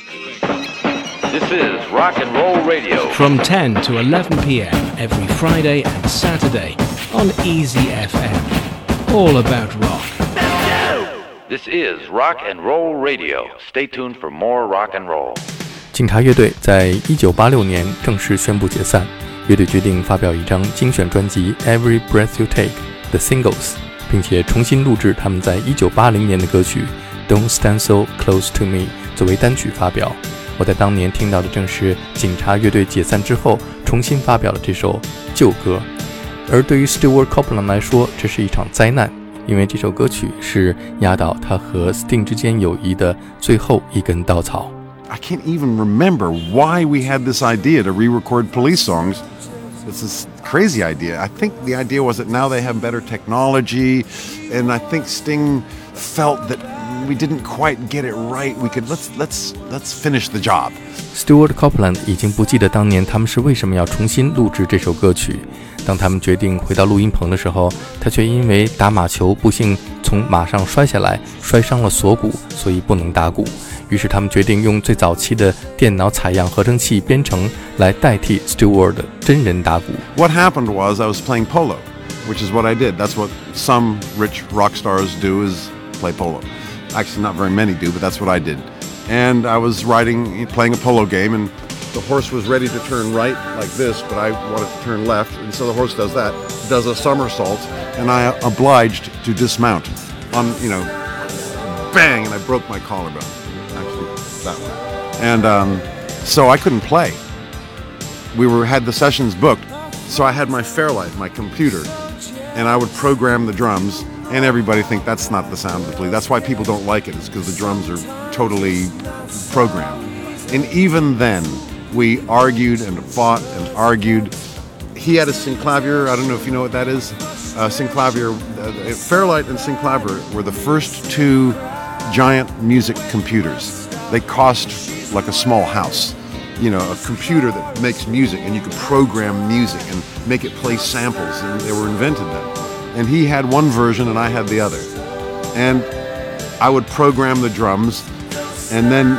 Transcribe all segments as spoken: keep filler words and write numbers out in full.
This is Rock and Roll Radio. From ten to eleven p.m. every Friday and Saturday on Easy F M. All about rock. This is Rock and Roll Radio. Stay tuned for more rock and roll. 警察乐队在一九八六年正式宣布解散，乐队决定发表一张精选专辑 Every Breath You Take The Singles， 并且重新录制他们在一九八零年的歌曲 Don't Stand So Close To Me 作为单曲发表。我在当年听到的正是警察乐队解散之后重新发表的这首旧歌，而对于 Stewart Copeland 来说，这是一场灾难，因为这首歌曲是压倒他和 Sting 之间友谊的最后一根稻草。 I can't even remember why we had this idea to re-record Police songs. It's this crazy idea. I think the idea was that now they have better technology, and I think Sting felt that we didn't quite get it right. We could let's let's let's finish the job. Stewart Copeland 已经不记得当年他们是为什么要重新录制这首歌曲。当他们决定回到录音棚的时候，他却因为打马球不幸从马上摔下来，摔伤了锁骨，所以不能打鼓。于是他们决定用最早期的电脑采样合成器编程来代替 Stewart 的真人打鼓。 What happened was I was playing polo, which is what I did. That's what some rich rock stars do, is play polo. Actually, not very many do, but that's what I did. And I was riding, playing a polo game, and the horse was ready to turn right like this, but I wanted to turn left, and so the horse does that, does a somersault, and I obliged to dismount on, you know, bang, and I broke my collarbone. Actually, that one. And um, so I couldn't play. We were had the sessions booked, so I had my Fairlight, my computer, and I would program the drums, and everybody think that's not the sound of the police. That's why people don't like it, is because the drums are totally programmed. And even then, we argued and fought and argued. He had a synclavier. I don't know if you know what that is. Uh, synclavier, uh, Fairlight and synclavier were the first two giant music computers. They cost like a small house. You know, a computer that makes music, and you could program music and make it play samples, and they were invented then. And he had one version and I had the other. And I would program the drums and then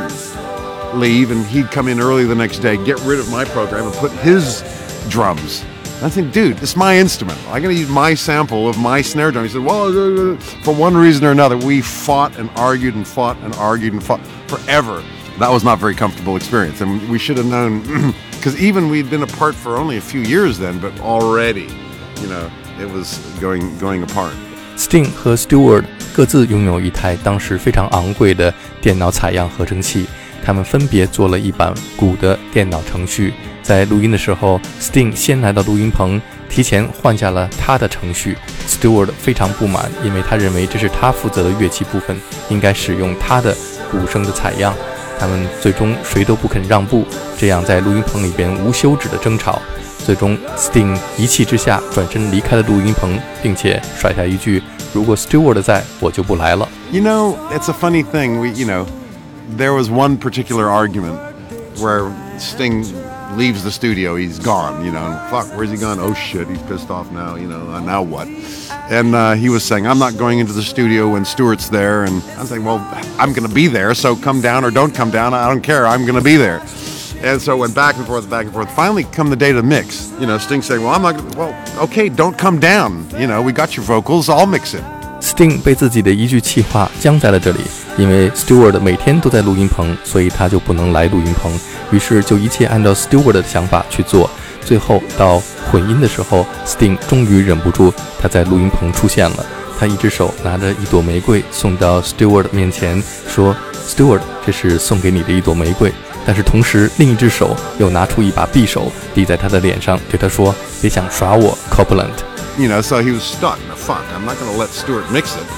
leave, and he'd come in early the next day, get rid of my program and put his drums. And I think, dude, this is my instrument. I'm going to use my sample of my snare drum. He said, well, for one reason or another, we fought and argued and fought and argued and fought forever. That was not a very comfortable experience. And we should have known, because even we'd been apart for only a few years then, but already, you know, it was going, going apart. Sting 和 Stewart 各自拥有一台当时非常昂贵的电脑采样合成器，他们分别做了一版鼓的电脑程序。在录音的时候 Sting 先来到录音棚，提前换下了他的程序。 Stewart 非常不满，因为他认为这是他负责的乐器部分，应该使用他的鼓声的采样。他们最终谁都不肯让步，这样在录音棚里边无休止的争吵。最终 Sting 一气之下转身离开了录音棚，并且甩下一句，如果 Stewart 在，我就不来了。 You know, it's a funny thing. We, you know, there was one particular argument where Sting leaves the studio. He's gone, you know, and fuck, where's he gone? Oh shit, he's pissed off now, you know, now what? And uh, he was saying, I'm not going into the studio when Stewart's there. And I'm saying, well, I'm going to be there, so come down or don't come down. I don't care. I'm going to be there. And so it went back and forth, back and forth. Finally, come the day to mix, you know, Sting saying, well, I'm not gonna, well, okay, don't come down. You know, we got your vocals, I'll mix it. Sting 被自己的一句气话僵在了这里，因为 Stewart 每天都在录音棚，所以他就不能来录音棚，于是就一切按照 Stewart 的想法去做。最后到混音的时候 Sting 终于忍不住，他在录音棚出现了，他一只手拿着一朵玫瑰送到 Stewart 面前，说 Stewart 这是送给你的一朵玫瑰，但是同时另一只手又拿出一把匕首抵在他的脸上，对他说，别想耍我 Copeland。You know, so he was stuck. Now, fuck, I'm not going to let Stewart mix it.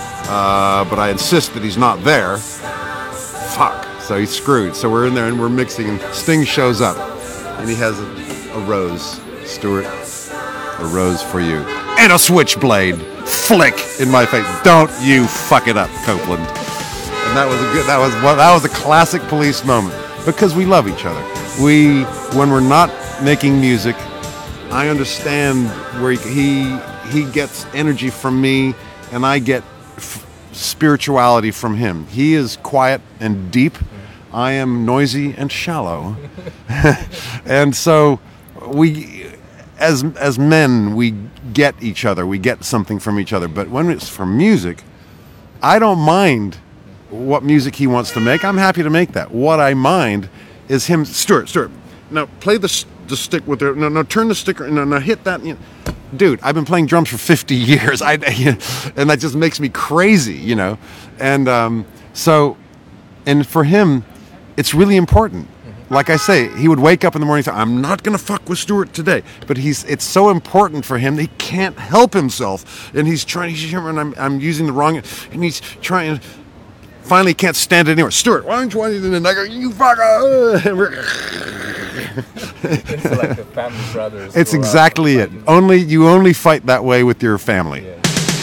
Uh, but I insist that he's not there. Fuck. So he's screwed. So we're in there and we're mixing, and Sting shows up. And he has a, a rose. Stewart, a rose for you. And a switchblade. Flick in my face. Don't you fuck it up, Copeland. And that was a good, that was, well, that was a classic Police moment. Because we love each other. We, when we're not making music, I understand where he he gets energy from me, and I get f- spirituality from him. He is quiet and deep. I am noisy and shallow. And so we, as as men, we get each other. We get something from each other. But when it's from music, I don't mind what music he wants to make. I'm happy to make that. What I mind is him, Stuart, Stuart, now play the, the stick with the, no, no, turn the sticker, no, no, hit that. You know. Dude, I've been playing drums for fifty years. I, and that just makes me crazy, you know. And um, so, and for him, it's really important. Like I say, he would wake up in the morning and say, I'm not going to fuck with Stuart today. But he's it's so important for him that he can't help himself. And he's trying, he's, and I'm, I'm using the wrong, and he's trying, finally can't stand it anymore. Stuart, why don't you want to do the nugget? You fucker. It's like the family brothers. It's exactly it. Only, you only fight that way with your family. Yeah.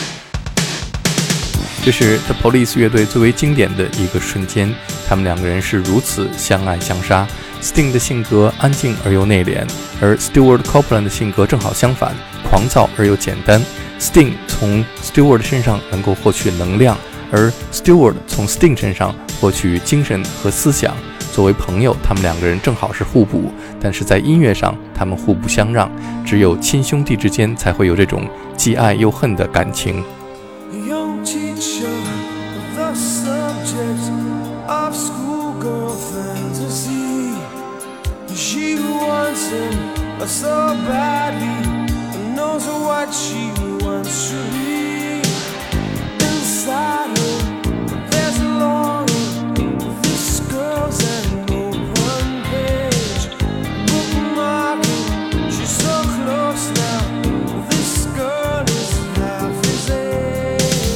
这是 The Police 乐队最为经典的一个瞬间，他们两个人是如此相爱相杀。Sting 的性格安静而又内敛，而 Stewart Copeland 的性格正好相反，狂躁而又简单。Sting 从 Stewart 身上能够获取能量，而 Stewart 从 Sting 身上获取精神和思想。作为朋友，他们两个人正好是互补，但是在音乐上，他们互不相让。只有亲兄弟之间才会有这种既爱又恨的感情。 Young teacher, the subject of schoolgirl fantasy. She wants him so badly, and knows what she wants to be. Inside her, there's a longing. This girl's an open page, bookmarking. She's so close now. This girl is half his age.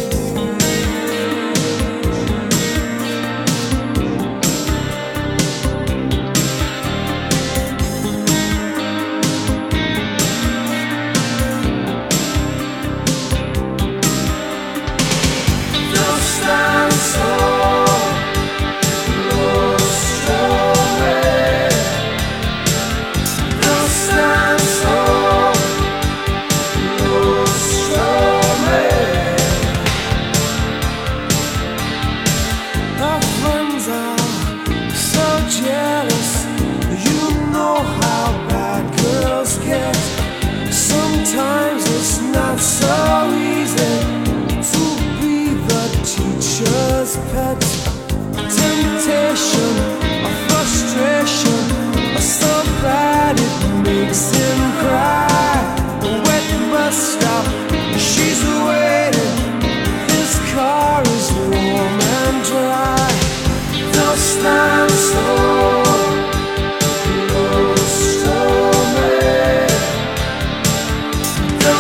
Pet temptation, a frustration, or so bad it makes him cry. A wet bus stop, she's waiting. His car is warm and dry. They'll stand so. The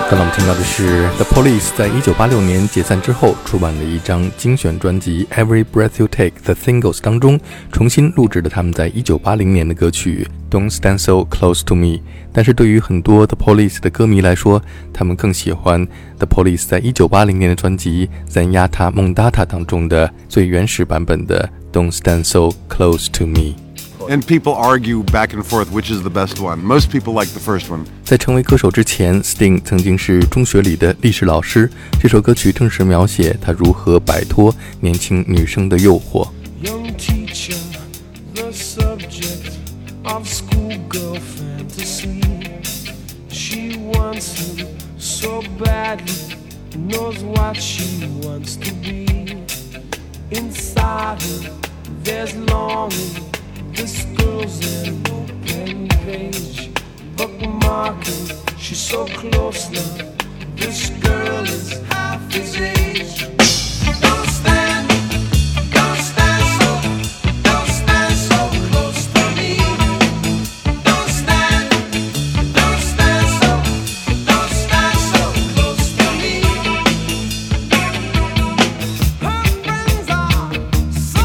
刚才我们听到的是 The Police 在一九八六年解散之后出版的一张精选专辑 Every Breath You Take The Singles 当中重新录制的他们在一九八零年的歌曲 Don't Stand So Close To Me。 但是对于很多 The Police 的歌迷来说，他们更喜欢 The Police 在一九八零年的专辑 Zenyatta Mondata 当中的最原始版本的 Don't Stand So Close To Me。And people argue back and forth which is the best one. Most people like the first one. 在成为歌手之前 Sting 曾经是中学里的历史老师，这首歌曲正是描写他如何摆脱年轻女生的诱惑。 Young teacher, the subject of schoolgirl fantasy. She wants him so badly, knows what she wants to be. Inside her, there's longing.This girl's an open page, bookmarking, she's so close now. This girl is half his age. Don't stand, don't stand so, don't stand so close to me. Don't stand, don't stand so, don't stand so close to me. Her friends are so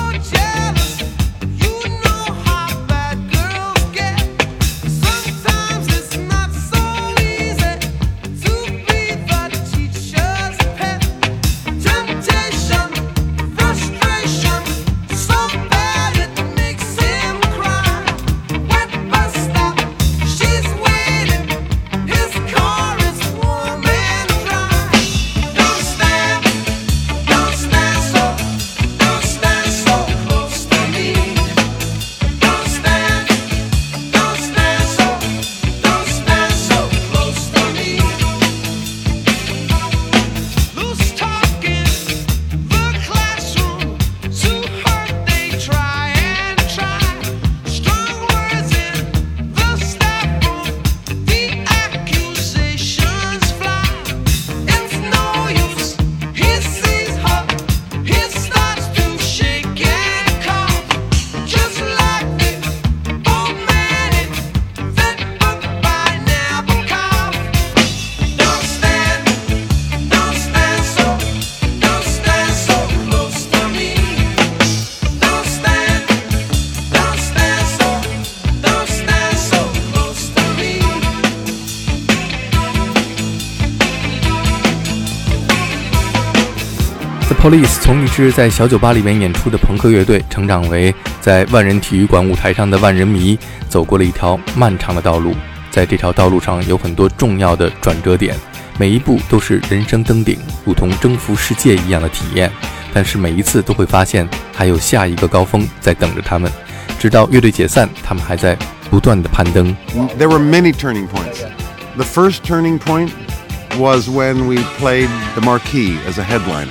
The Police 从一支在小酒吧里面演出的朋克乐队，成长为在万人体育馆舞台上的万人迷，走过了一条漫长的道路。在这条道路上有很多重要的转折点，每一步都是人生登顶，如同征服世界一样的体验。但是每一次都会发现还有下一个高峰在等着他们，直到乐队解散，他们还在不断的攀登。 There were many turning points. The first turning point was when we played the Marquee as a headliner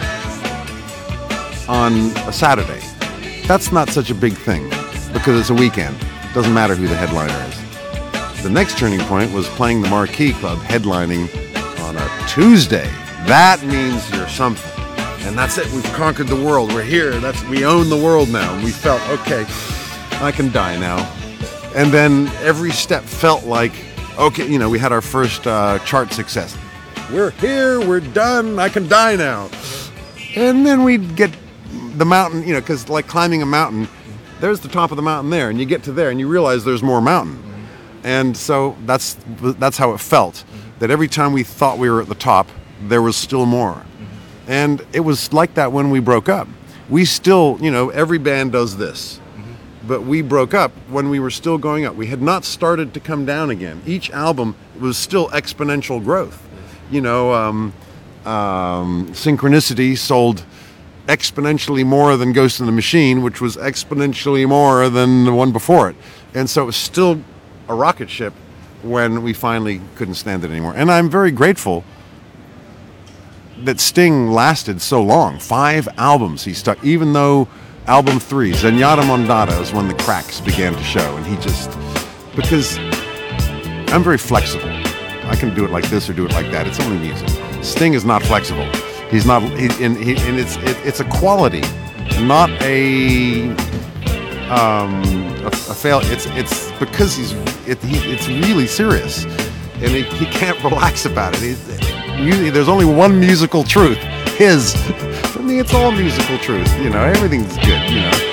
on a Saturday. That's not such a big thing because it's a weekend. It doesn't matter who the headliner is. The next turning point was playing the Marquee Club headlining on a Tuesday. That means you're something. And that's it. We've conquered the world. We're here. That's we own the world now. And we felt, okay, I can die now. And then every step felt like, okay, you know, we had our first uh, chart success. We're here. We're done. I can die now. And then we'd get the mountain, you know, because like climbing a mountain, there's the top of the mountain there, and you get to there, and you realize there's more mountain. And so that's that's how it felt. That every time we thought we were at the top, there was still more. And it was like that when we broke up. We still, you know, every band does this. But we broke up when we were still going up. We had not started to come down again. Each album was still exponential growth. You know, um, um, Synchronicity sold exponentially more than Ghost in the Machine, which was exponentially more than the one before it. And so it was still a rocket ship when we finally couldn't stand it anymore. And I'm very grateful that Sting lasted so long. Five albums he stuck, even though album three, Zenyatta Mondata, is when the cracks began to show. And he just, because I'm very flexible. I can do it like this or do it like that. It's only music. Sting is not flexible. He's not, he, and, he, and it's it, it's a quality, not a um, a, a fail. It's it's because he's it, he, it's really serious, and he, he can't relax about it. He, there's only one musical truth, his. For me, it's all musical truth. You know, everything's good. You know.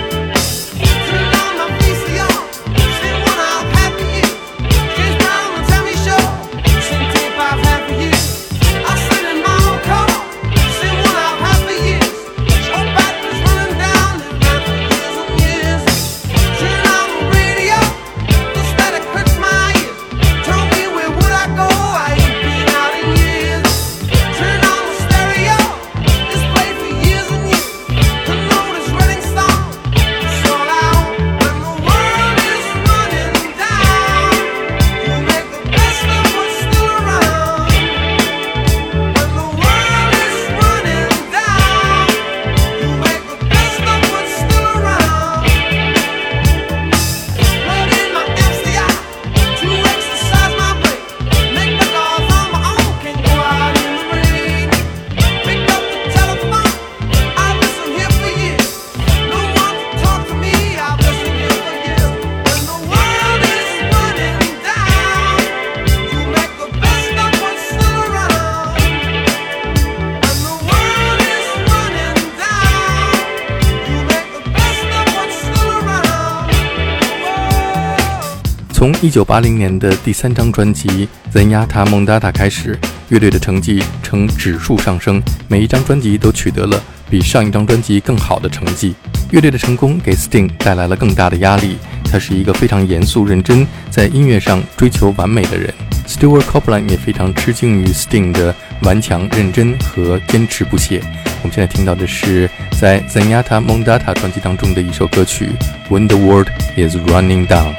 从一九八零年的第三张专辑《Zenyatta Mondatta》开始，乐队的成绩呈指数上升，每一张专辑都取得了比上一张专辑更好的成绩。乐队的成功给 Sting 带来了更大的压力，他是一个非常严肃认真，在音乐上追求完美的人。Stewart Copeland 也非常吃惊于 Sting 的顽强、认真和坚持不懈。我们现在听到的是在 Zenyatta Mondatta 专辑当中的一首歌曲《When the World is Running Down》。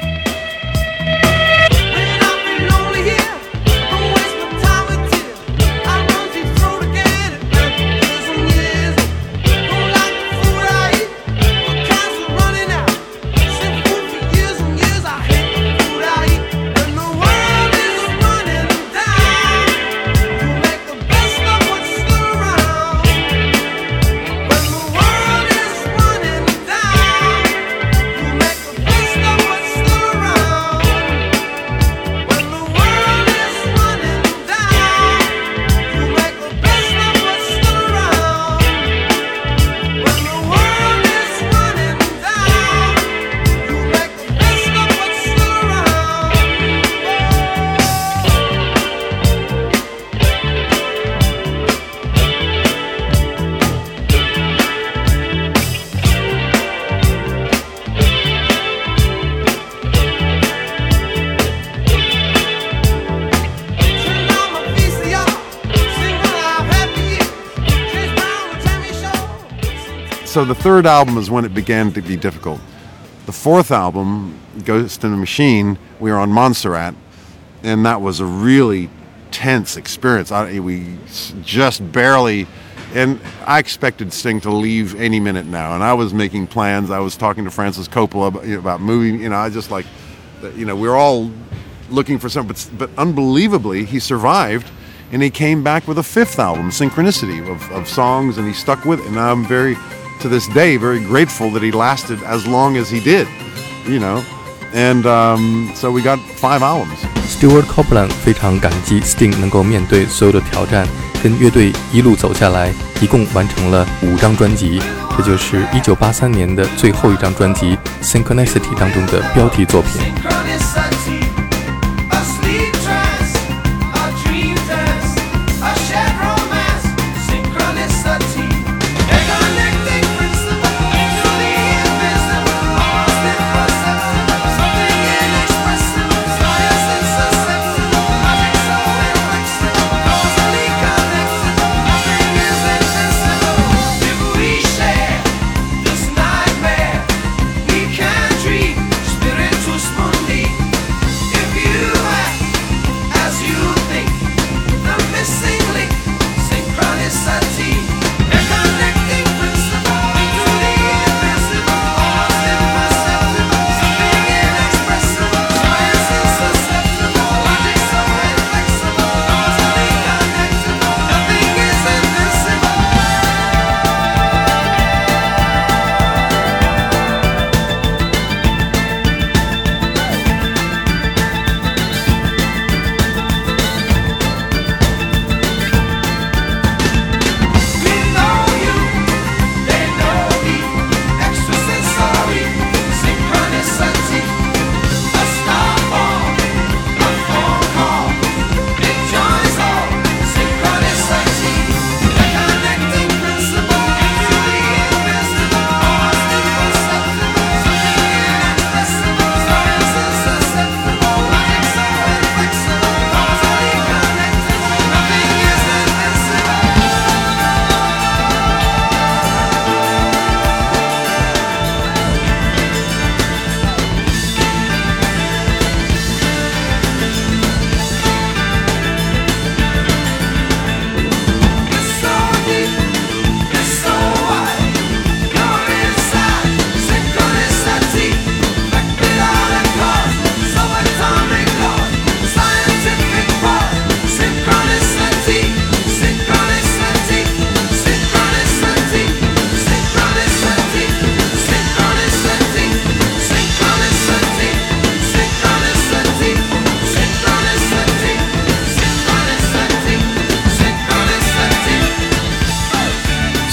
So the third album is when it began to be difficult. The fourth album, Ghost in the Machine, we were on Montserrat, and that was a really tense experience. I, we just barely, and I expected Sting to leave any minute now, and I was making plans. I was talking to Francis Coppola about, you know, about moving. You know, I just like, you know, we were all looking for something, but, but unbelievably, he survived. And he came back with a fifth album, Synchronicity, of, of songs, and he stuck with it. And I'm very, to this day, very grateful that he lasted as long as he did, you know. And um, so we got five albums. Stewart Copeland 非常感激 Sting 能够面对所有的挑战，跟乐队一路走下来，一共完成了五张专辑，这就是一九八三年的最后一张专辑 Synchronicity 当中的标题作品。 Spiritual Mundi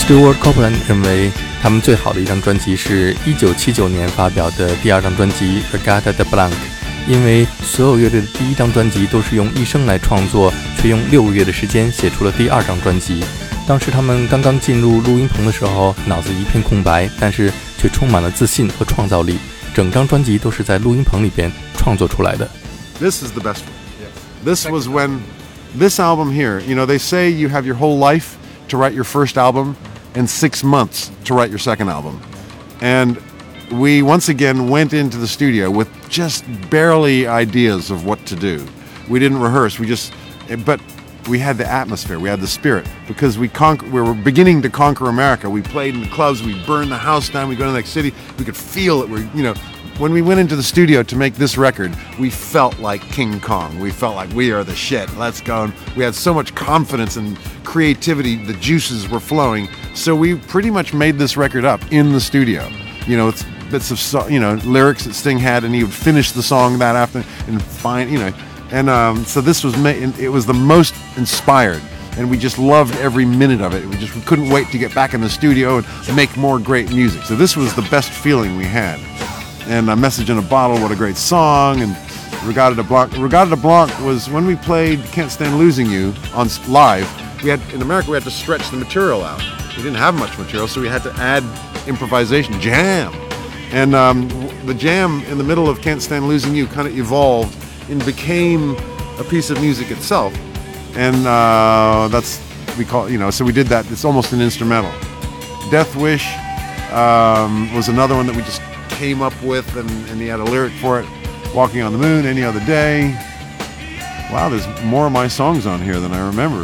Stewart Copeland 认为他们最好的一张专辑是一九七九年发表的第二张专辑 Regatta de Blanc， 因为所有乐队的第一张专辑都是用一生来创作，却用六个月的时间写出了第二张专辑。当时他们刚刚进入录音棚的时候，脑子一片空白，但是却充满了自信和创造力。整张专辑都是在录音棚里边创作出来的。 This is the best one. This was when this album here, you know, they say you have your whole life to write your first album and six months to write your second album. And we once again went into the studio with just barely ideas of what to do. We didn't rehearse, we just, but we had the atmosphere, we had the spirit, because we conquer, we were beginning to conquer America. We played in the clubs, we burned the house down, we go to the next city, we could feel it. We, you know, when we went into the studio to make this record, we felt like King Kong. We felt like we are the shit. Let's go. And we had so much confidence and creativity. The juices were flowing. So we pretty much made this record up in the studio. You know, it's bits of so, you know lyrics that Sting had, and he would finish the song that afternoon and find you know. And um, so this was ma- it was the most inspired, and we just loved every minute of it. We just we couldn't wait to get back in the studio and make more great music. So this was the best feeling we had. And A Message in a Bottle, what a great song, and Regatta de Blanc. Regatta de Blanc was when we played Can't Stand Losing You on live. We had in America we had to stretch the material out. We didn't have much material, so we had to add improvisation, jam. And um, the jam in the middle of Can't Stand Losing You kind of evolved and became a piece of music itself. And uh, that's, we call, you know, so we did that. It's almost an instrumental. Death Wish um, was another one that we just came up with, and, and he had a lyric for it. Walking on the Moon, Any Other Day. Wow, there's more of my songs on here than I remember.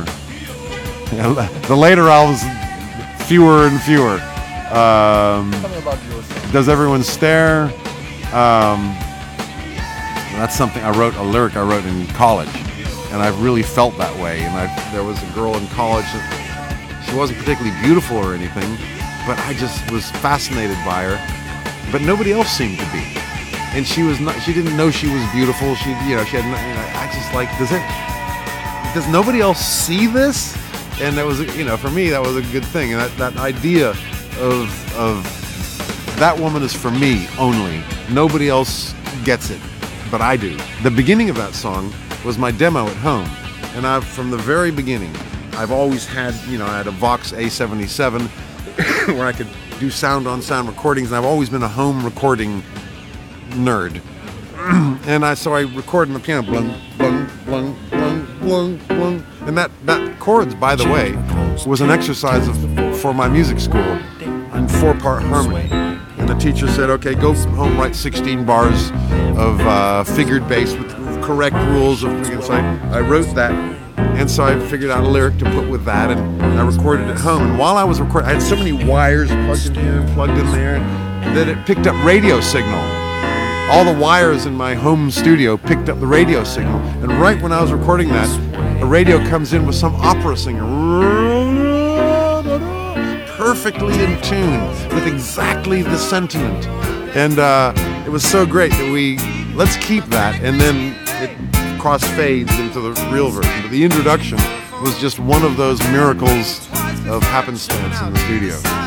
The later albums, fewer and fewer. Um, Tell me about yours. Does Everyone Stare? Um, that's something I wrote, a lyric I wrote in college, and I've really felt that way. And I, there was a girl in college that she wasn't particularly beautiful or anything, but I just was fascinated by her. But nobody else seemed to be, and she was not. She didn't know she was beautiful. She, you know, she had. You know, I just like, does it? Does nobody else see this? And that was, you know, for me that was a good thing. And that, that idea of of that woman is for me only. Nobody else gets it, but I do. The beginning of that song was my demo at home, and I've from the very beginning, I've always had, you know, I had a Vox A seventy-seven where I could do sound on sound recordings, and I've always been a home recording nerd. And I so I record in the piano, blung, blung, blung, blung, blung, blung. And that, that chords, by the way, was an exercise of, for my music school in four-part harmony. And the teacher said, okay, go home, write sixteen bars of uh, figured bass with correct rules of freaking side. I wrote that, and so I figured out a lyric to put with that, and I recorded at home. And while I was recording, I had so many wires plugged in here and plugged in there that it picked up radio signal. All the wires in my home studio picked up the radio signal. And right when I was recording that, a radio comes in with some opera singer, perfectly in tune with exactly the sentiment. And uh, it was so great that we, let's keep that, and then it cross-fades into the real version. But the introduction was just one of those miracles of happenstance in the studio.